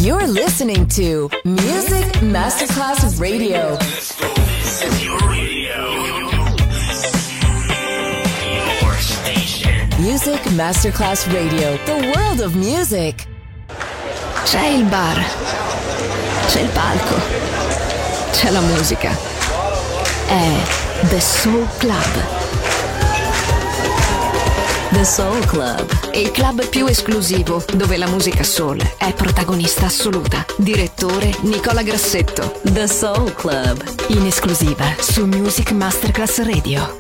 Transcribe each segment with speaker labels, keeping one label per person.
Speaker 1: You're listening to Music Masterclass Radio. Your station. Music Masterclass Radio. The world of music.
Speaker 2: C'è il bar, c'è il palco, c'è la musica. È The Soul Club.
Speaker 1: The Soul Club.
Speaker 2: Il club più esclusivo, dove la musica soul è protagonista assoluta. Direttore Nicola Grassetto.
Speaker 1: The Soul Club.
Speaker 2: In esclusiva su Music Masterclass Radio.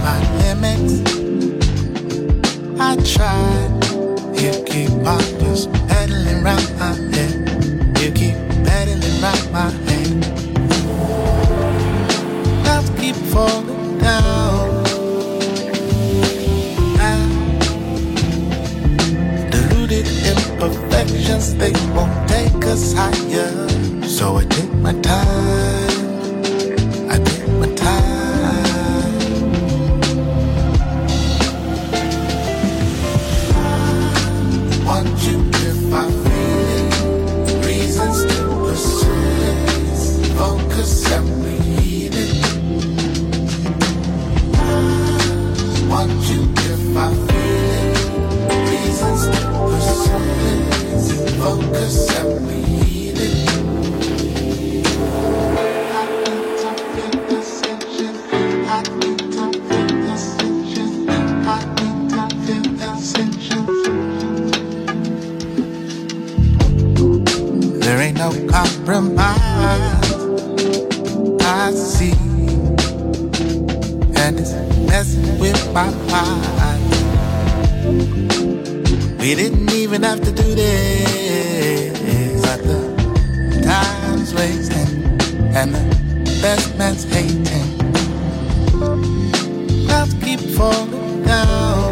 Speaker 3: my limits. I tried. You keep on just pedaling round my head. You keep pedaling round my head. Clouds keep falling down. Deluded imperfections, they won't take us higher. So I take my time. I take my time. I want you if I feel it. Reasons to pursue it. Focus and read it. I want you if I feel it. Reasons to pursue it. Focus and read it. There ain't no compromise, I see, and it's messing with my mind. We didn't even have to do this, but the time's wasting and the best man's hating. Clouds keep falling down.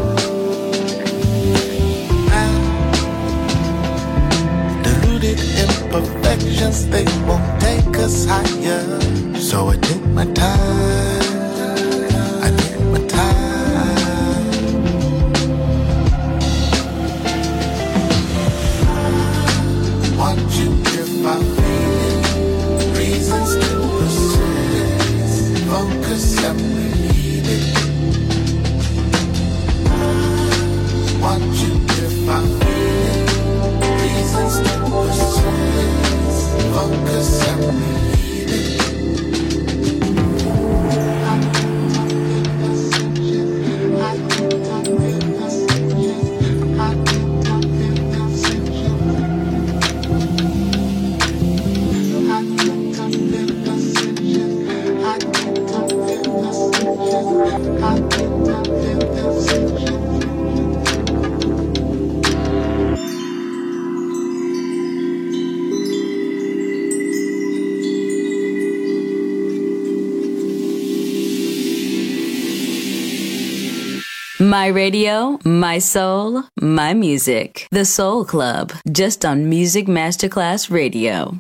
Speaker 3: Imperfections, they won't take us higher. So I take my time. I take my time. I want you if I feel it. Reasons to pursue it. Focus and read it. I want you if I feel it. Reasons to pursue it. Focus and read it.
Speaker 1: My radio, my soul, my music. The Soul Club, just on Music Masterclass Radio.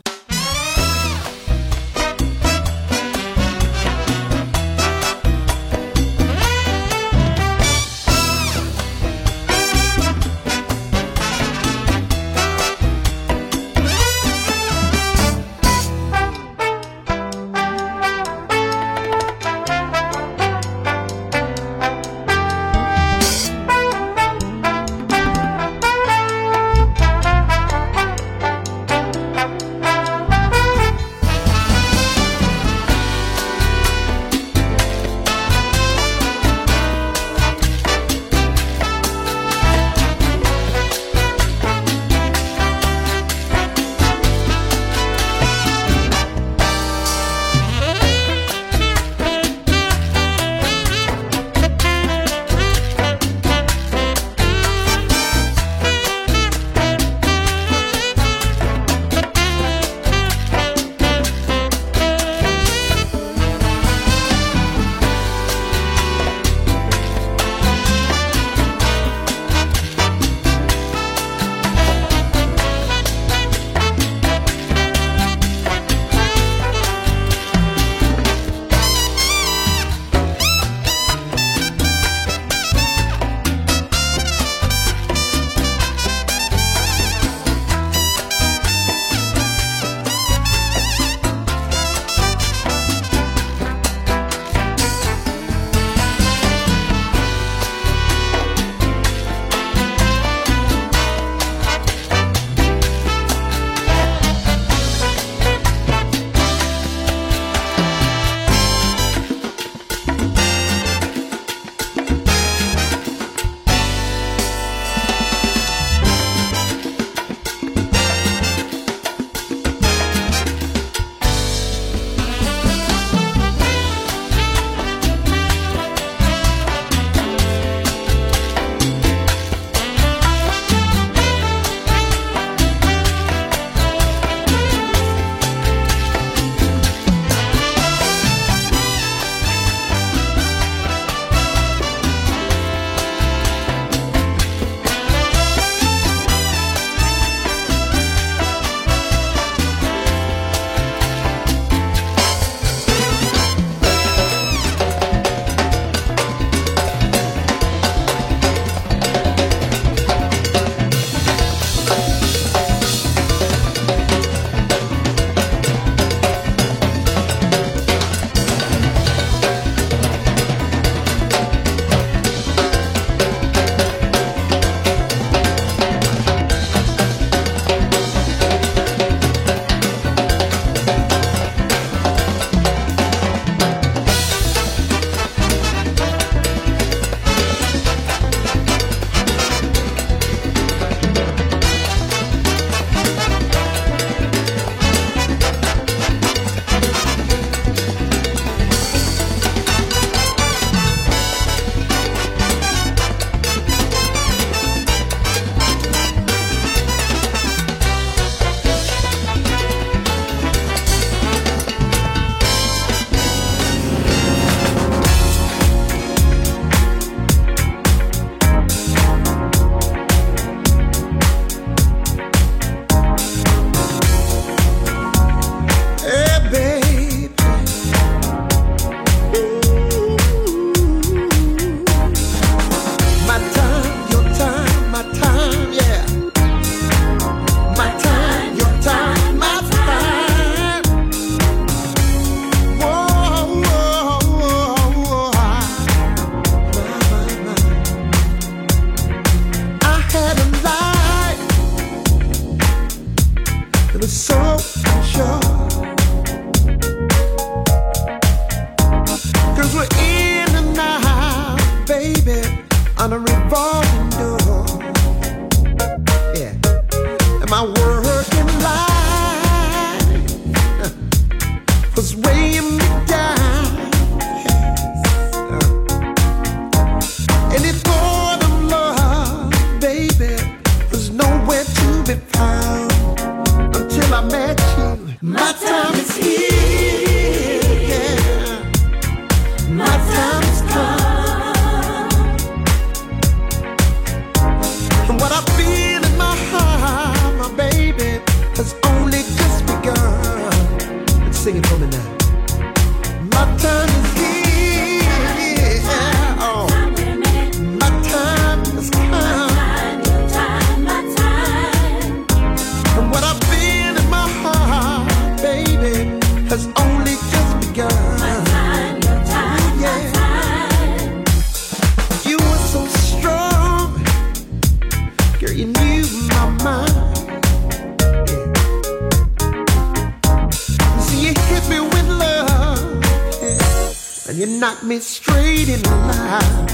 Speaker 3: knock me straight in line.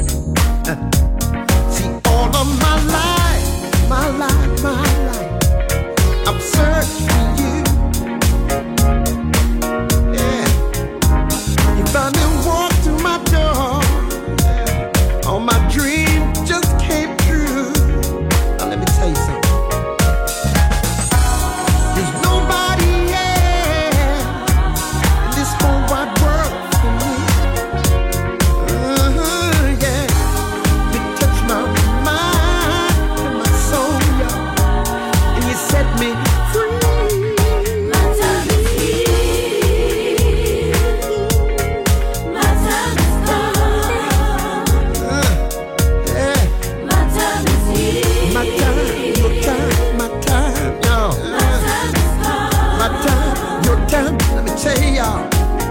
Speaker 3: See, all of my life, I've searched for you. Yeah, you finally walked through my door. Yeah. All my dreams just came true. Now let me tell you something. There's nobody else in this whole wide world for me. Yeah, you touched my mind and my soul, yeah. And you set me free. My time is here. My time is gone. Yeah. My time is here. My time, your time, my time, y'all. My time is gone. My time, your time. Let me tell y'all.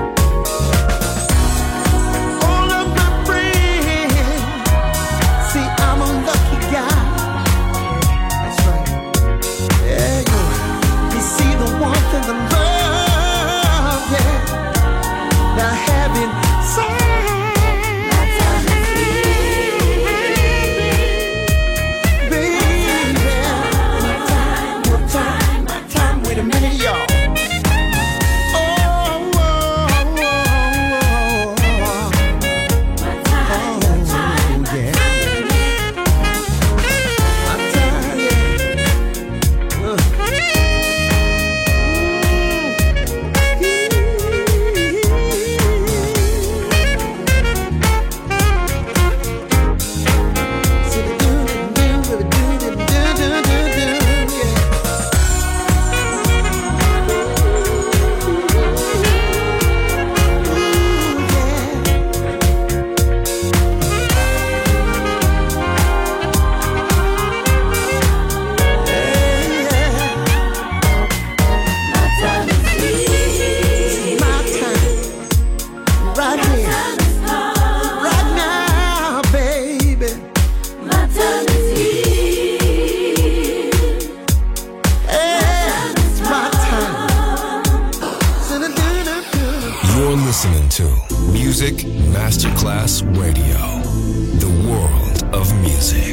Speaker 3: All of my friends, see, I'm a lucky guy. That's right. Yeah, you see the warmth and the love, yeah, that I have inside. My time is here, baby. My time, your time, my time. Wait a minute, y'all. Oh, oh, oh, oh, oh. My time, your time, my time. My time, yeah.
Speaker 4: You're listening to Music Masterclass Radio, the world of music.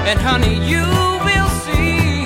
Speaker 5: and honey, you will see.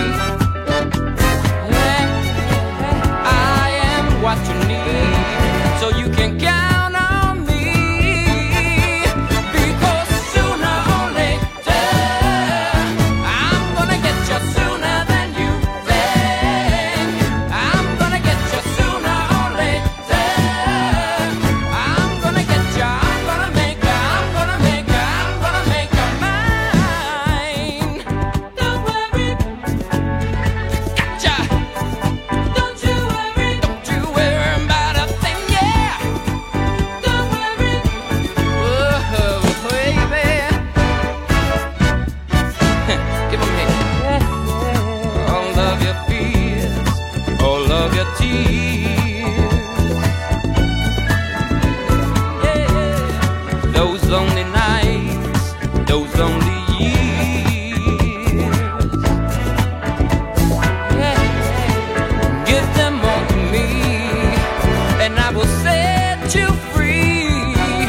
Speaker 5: I am what you need, so you can count on me. Because sooner or later, I'm gonna get you sooner than you think. I'm gonna get you sooner or later. I'm gonna get you, I'm gonna make you, I'm gonna make you, I'm gonna make you mine. Don't worry, gotcha. Don't you worry about a thing, yeah. Don't worry, whoa, baby. Give 'em here. All of your fears, all of your tears. Yeah. Those lonely nights, those lonely years. Yeah. Give them all to me, and I will set you free.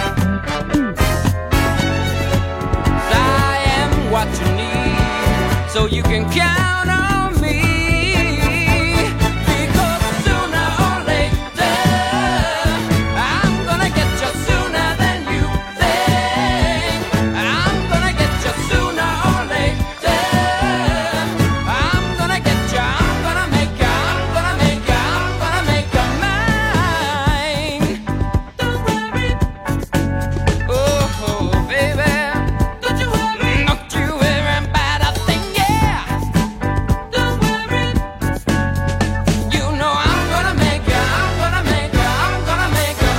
Speaker 5: 'Cause I am what you need, so you can count on me. Because sooner or later, I'm gonna get you sooner than you think. I'm gonna get you sooner or later. I'm gonna get you, I'm gonna make you, I'm gonna make you, I'm gonna make you mine. Don't worry, oh baby, don't you worry about a thing, yeah. Don't worry, you know I'm gonna make you, I'm gonna make you, I'm gonna make you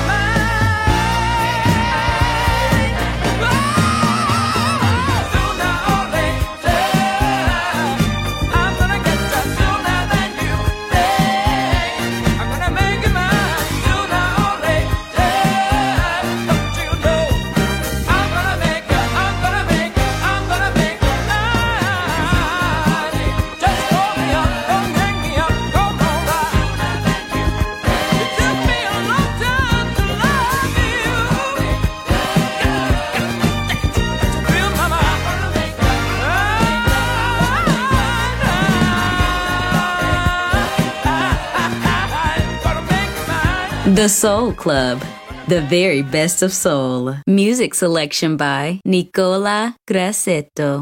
Speaker 5: mine. Sooner or later, I'm gonna get you sooner than you think. I'm gonna make you mine. Sooner or later, don't you know I'm gonna make you, I'm gonna make you, I'm gonna make you mine. Just call me up, don't hang me up, come on by. It took me a long time to love you. Feel my mind. Gonna make you mine.
Speaker 1: The Soul Club, the very best of soul. Music selection by Nicola Grassetto.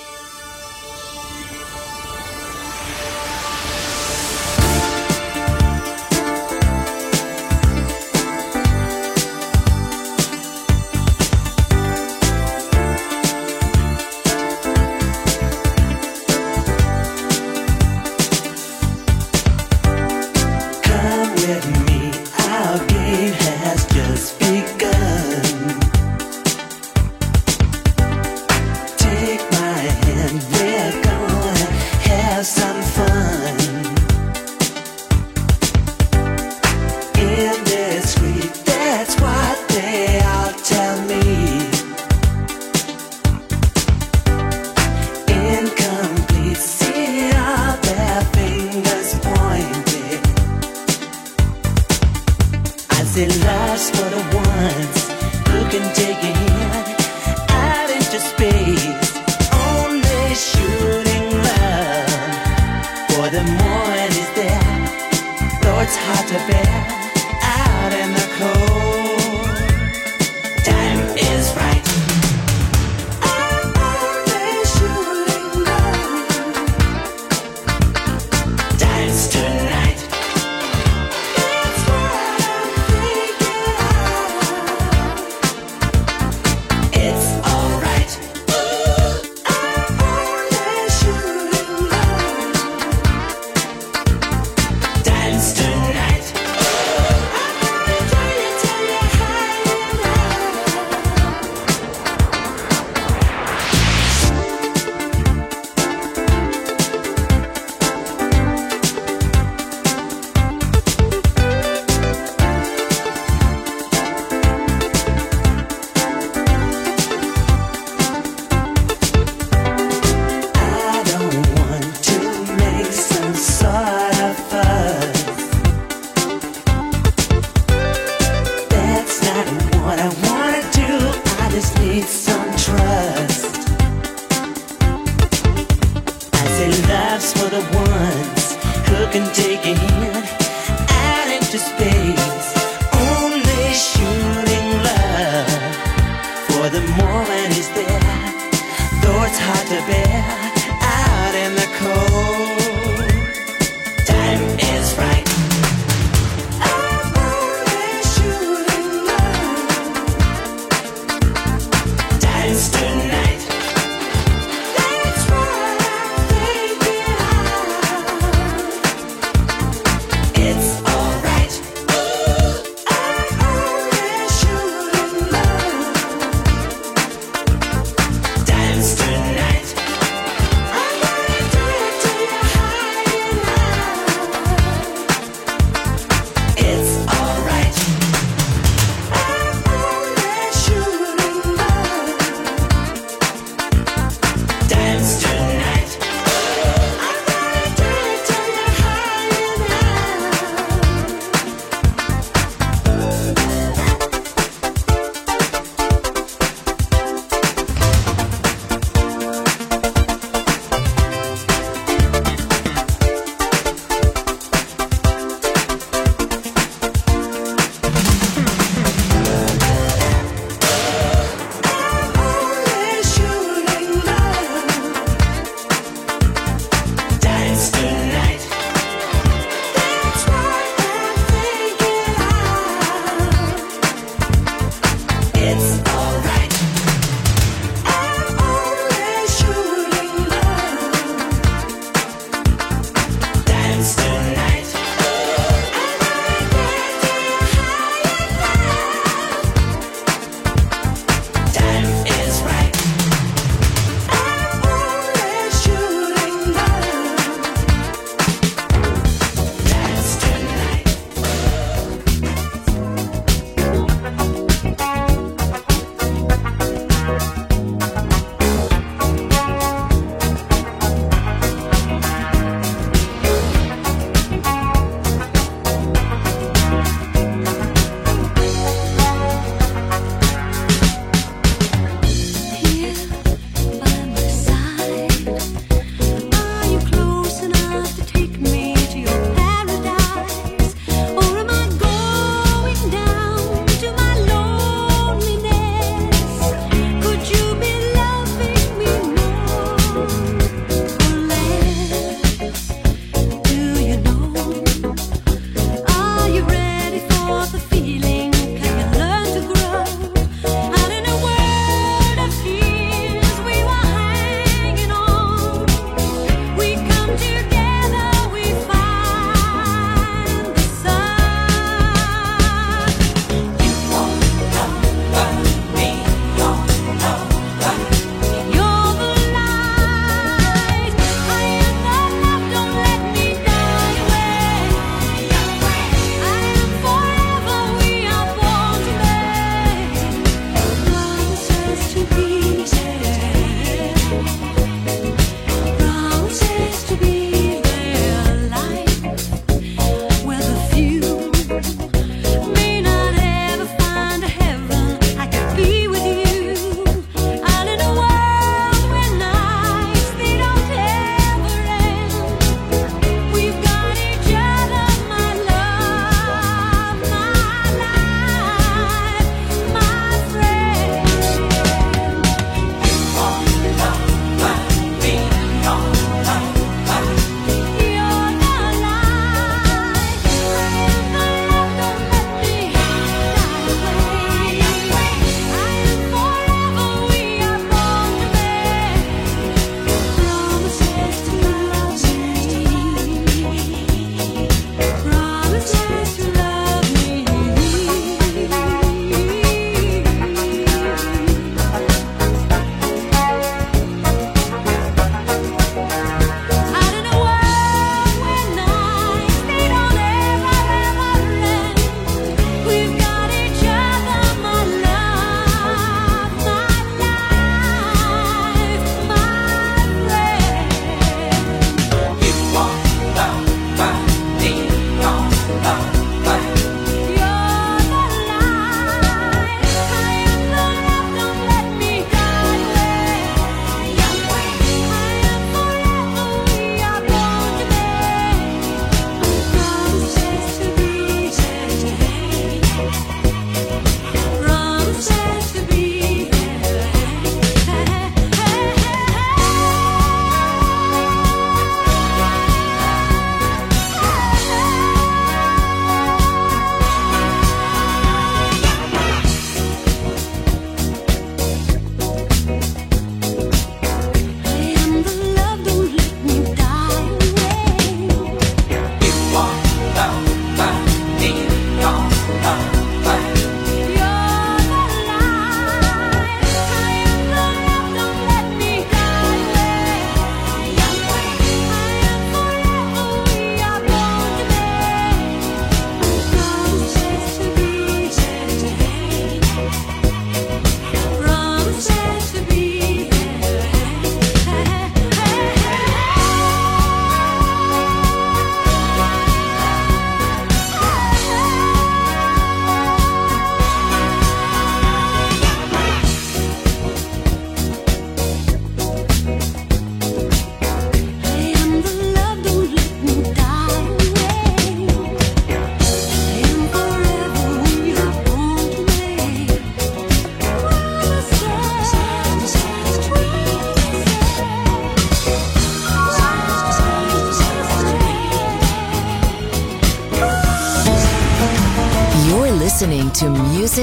Speaker 3: Come with me, our game has just begun. Take my hand, we're gonna have some fun. Indiscreet, that's what they all tell me. Incomplete, see all their fingers pointed. I say love's for the ones who can take a hand out into space. Only shooting love for the morning is there. Though it's hard to bear out in the cold. Time is right. I'm only shooting love. Time's tonight. It's what I'm thinking of.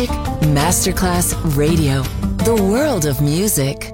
Speaker 2: Music Masterclass Radio. The world of music.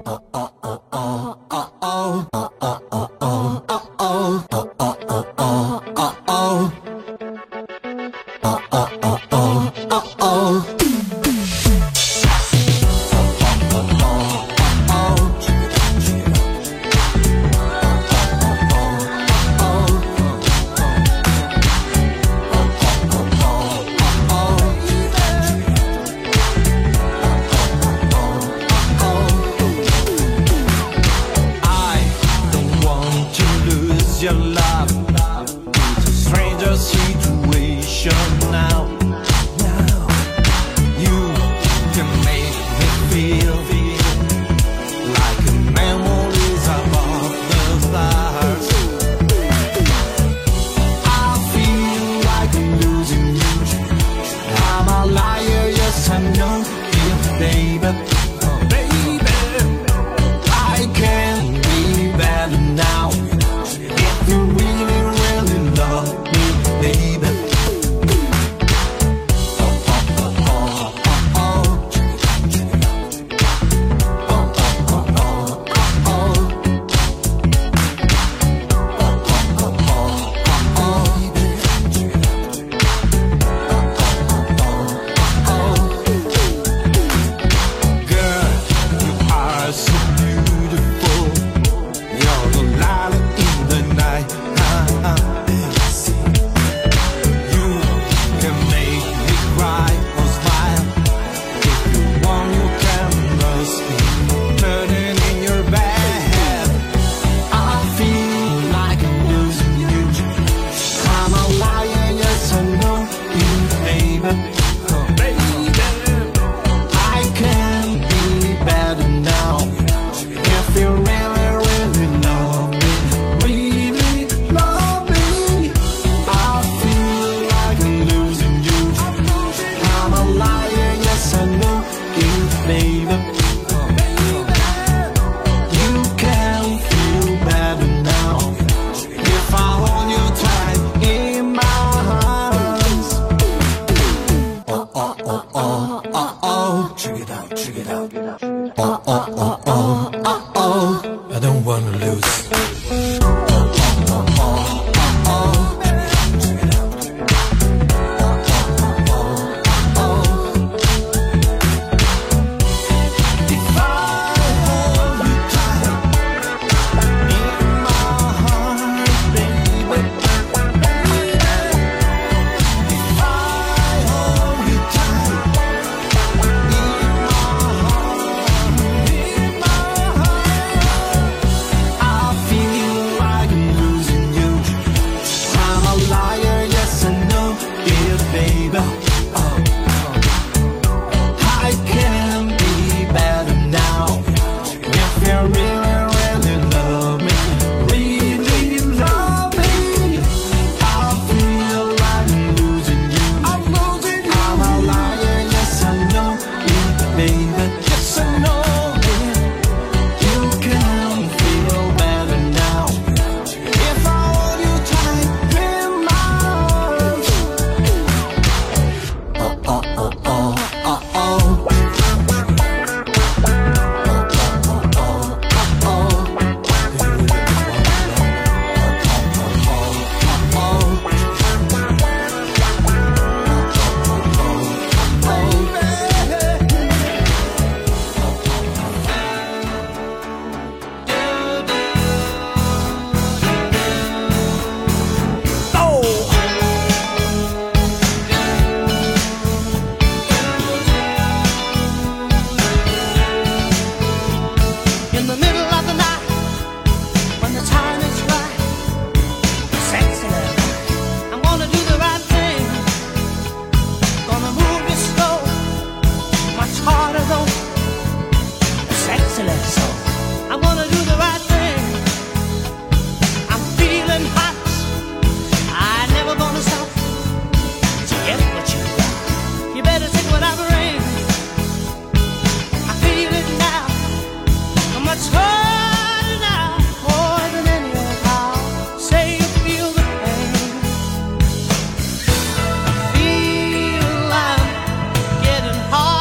Speaker 6: Getting hard.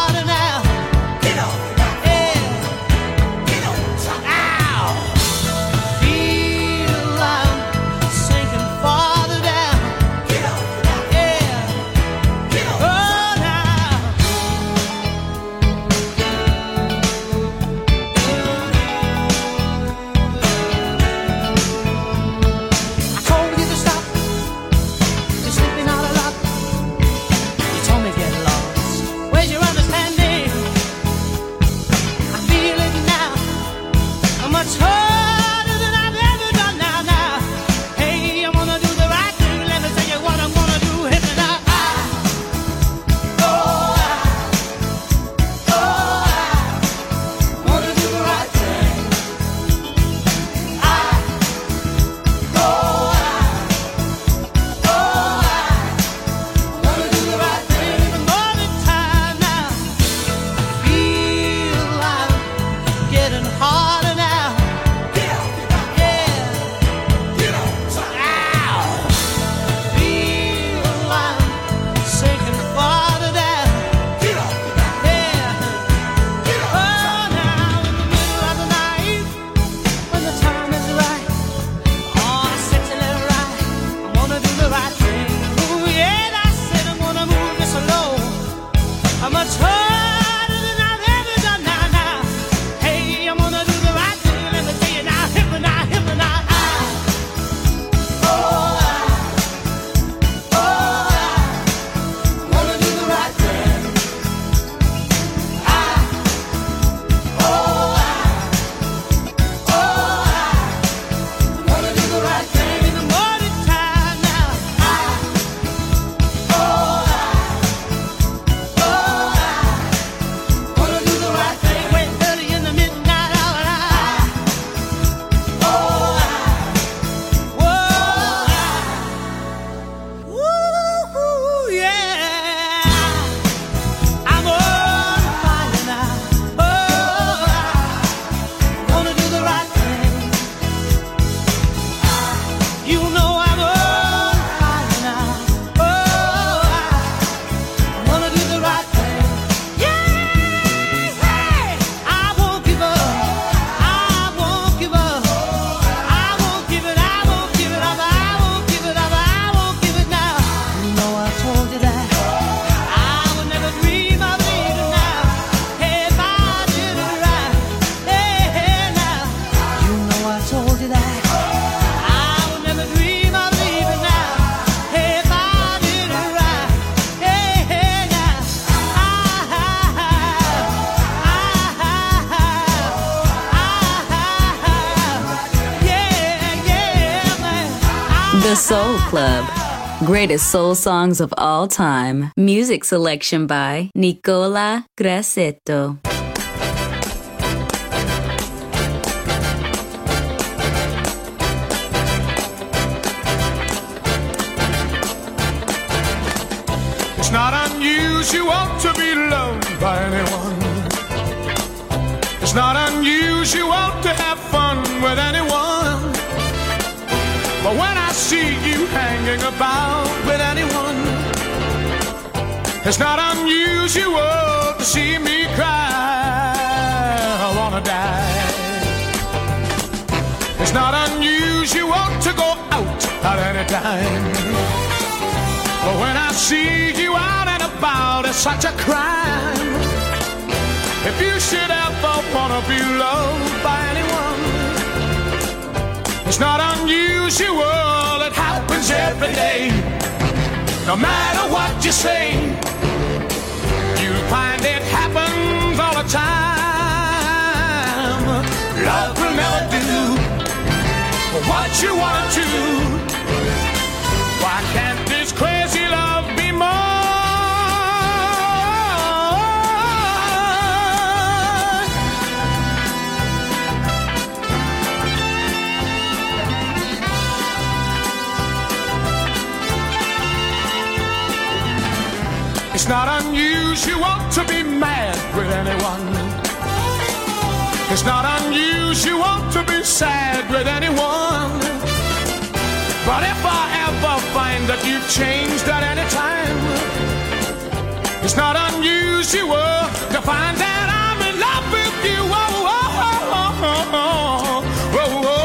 Speaker 1: The Soul Club. Greatest soul songs of all time. Music selection by Nicola Grassetto.
Speaker 3: It's not unusual to be loved by anyone. It's not unusual to have fun with anyone. But when I see you hanging about with anyone, it's not unusual to see me cry. I wanna die. It's not unusual to go out at any time. But when I see you out and about, it's such a crime. If you should ever wanna be loved by anyone, it's not unusual, it happens every day. No matter what you say, you'll find it happens all the time. Love will never do what you wanna do. Why can't this crazy love be more? It's not unusual to be mad with anyone. It's not unusual to be sad with anyone. But if I ever find that you've changed at any time, it's not unusual to find that I'm in love with you. Oh, oh, oh, oh, oh, oh, oh, oh.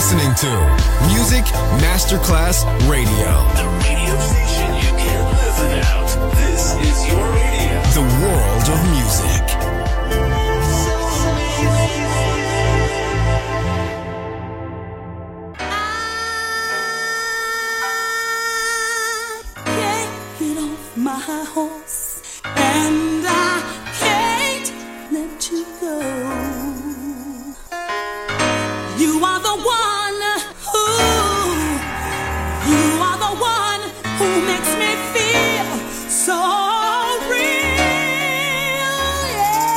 Speaker 4: listening to Music Masterclass Radio.
Speaker 6: The radio station you can't live without. This is your radio.
Speaker 4: The world of music.
Speaker 7: I can't get off my horse, and I can't let you go. You are the one who makes me feel so real, yeah.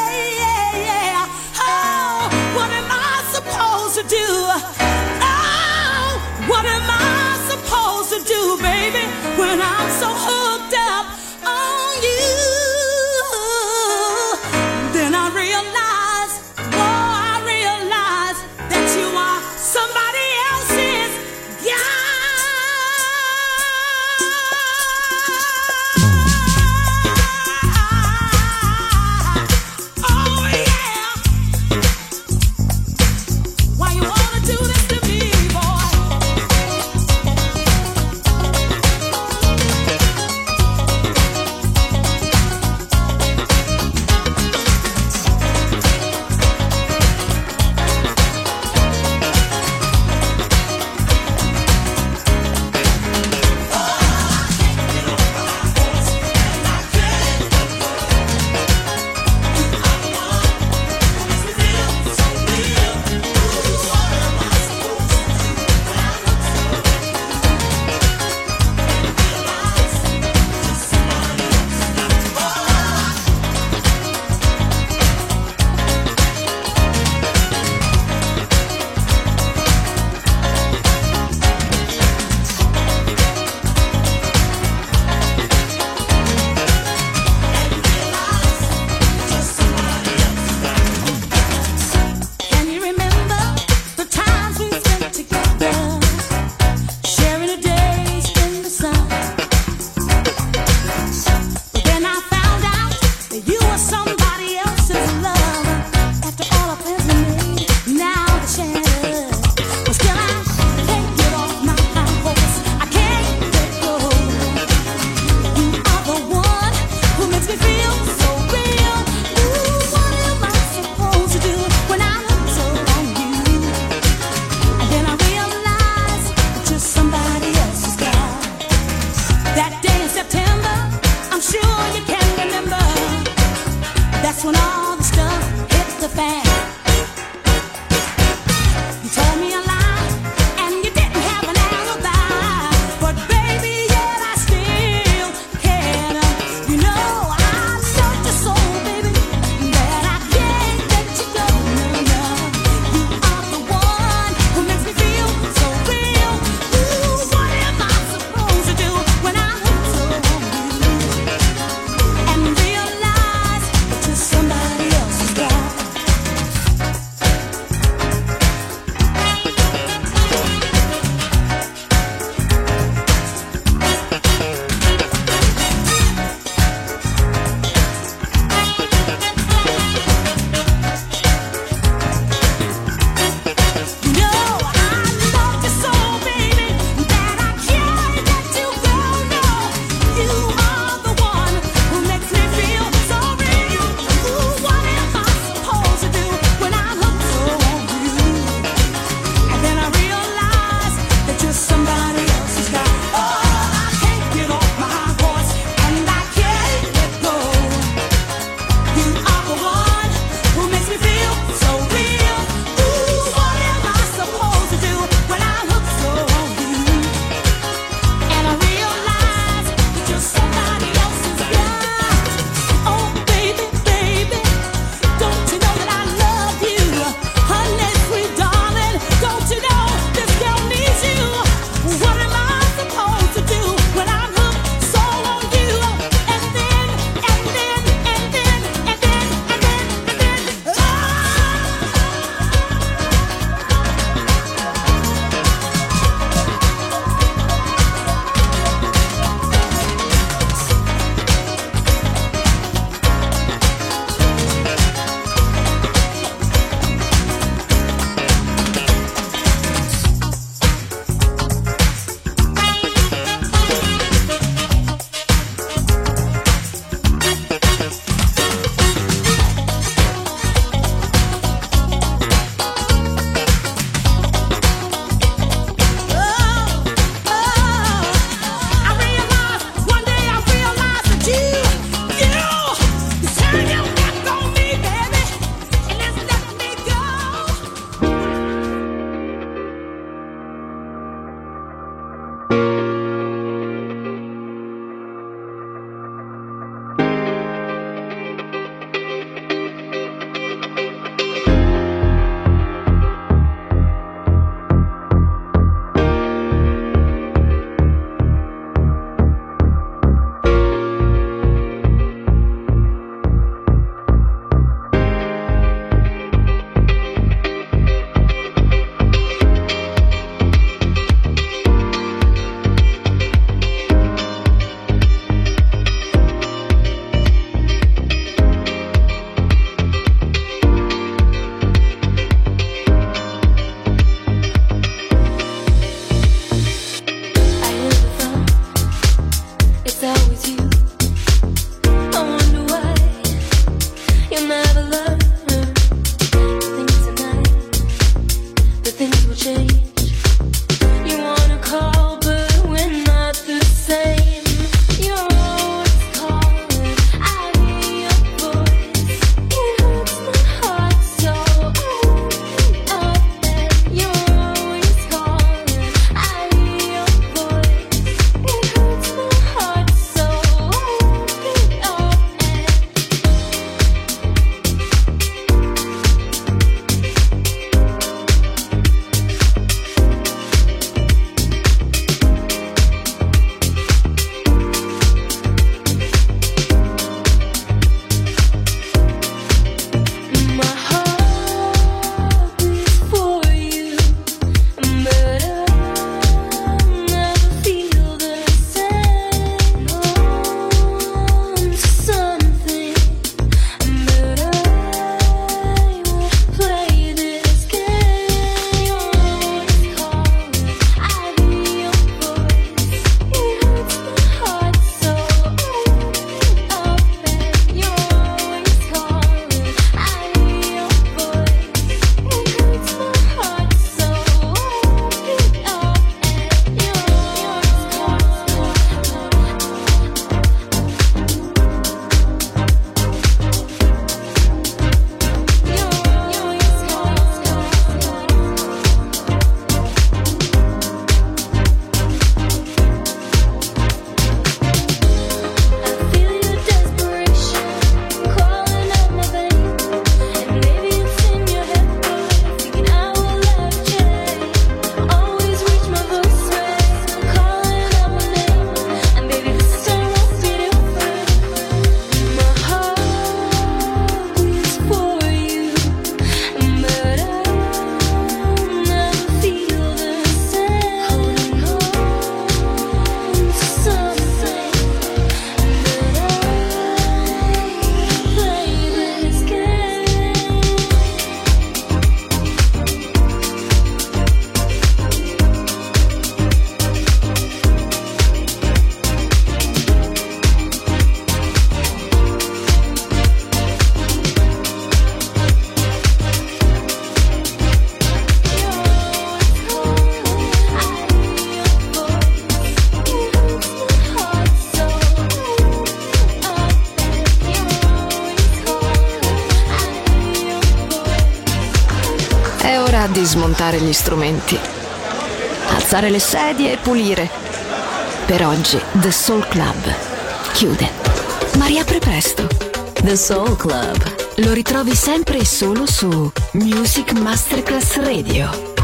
Speaker 2: È ora di smontare gli strumenti, alzare le sedie e pulire. Per oggi The Soul Club chiude, ma riapre presto.
Speaker 1: The Soul Club.
Speaker 2: Lo ritrovi sempre e solo su Music Masterclass Radio.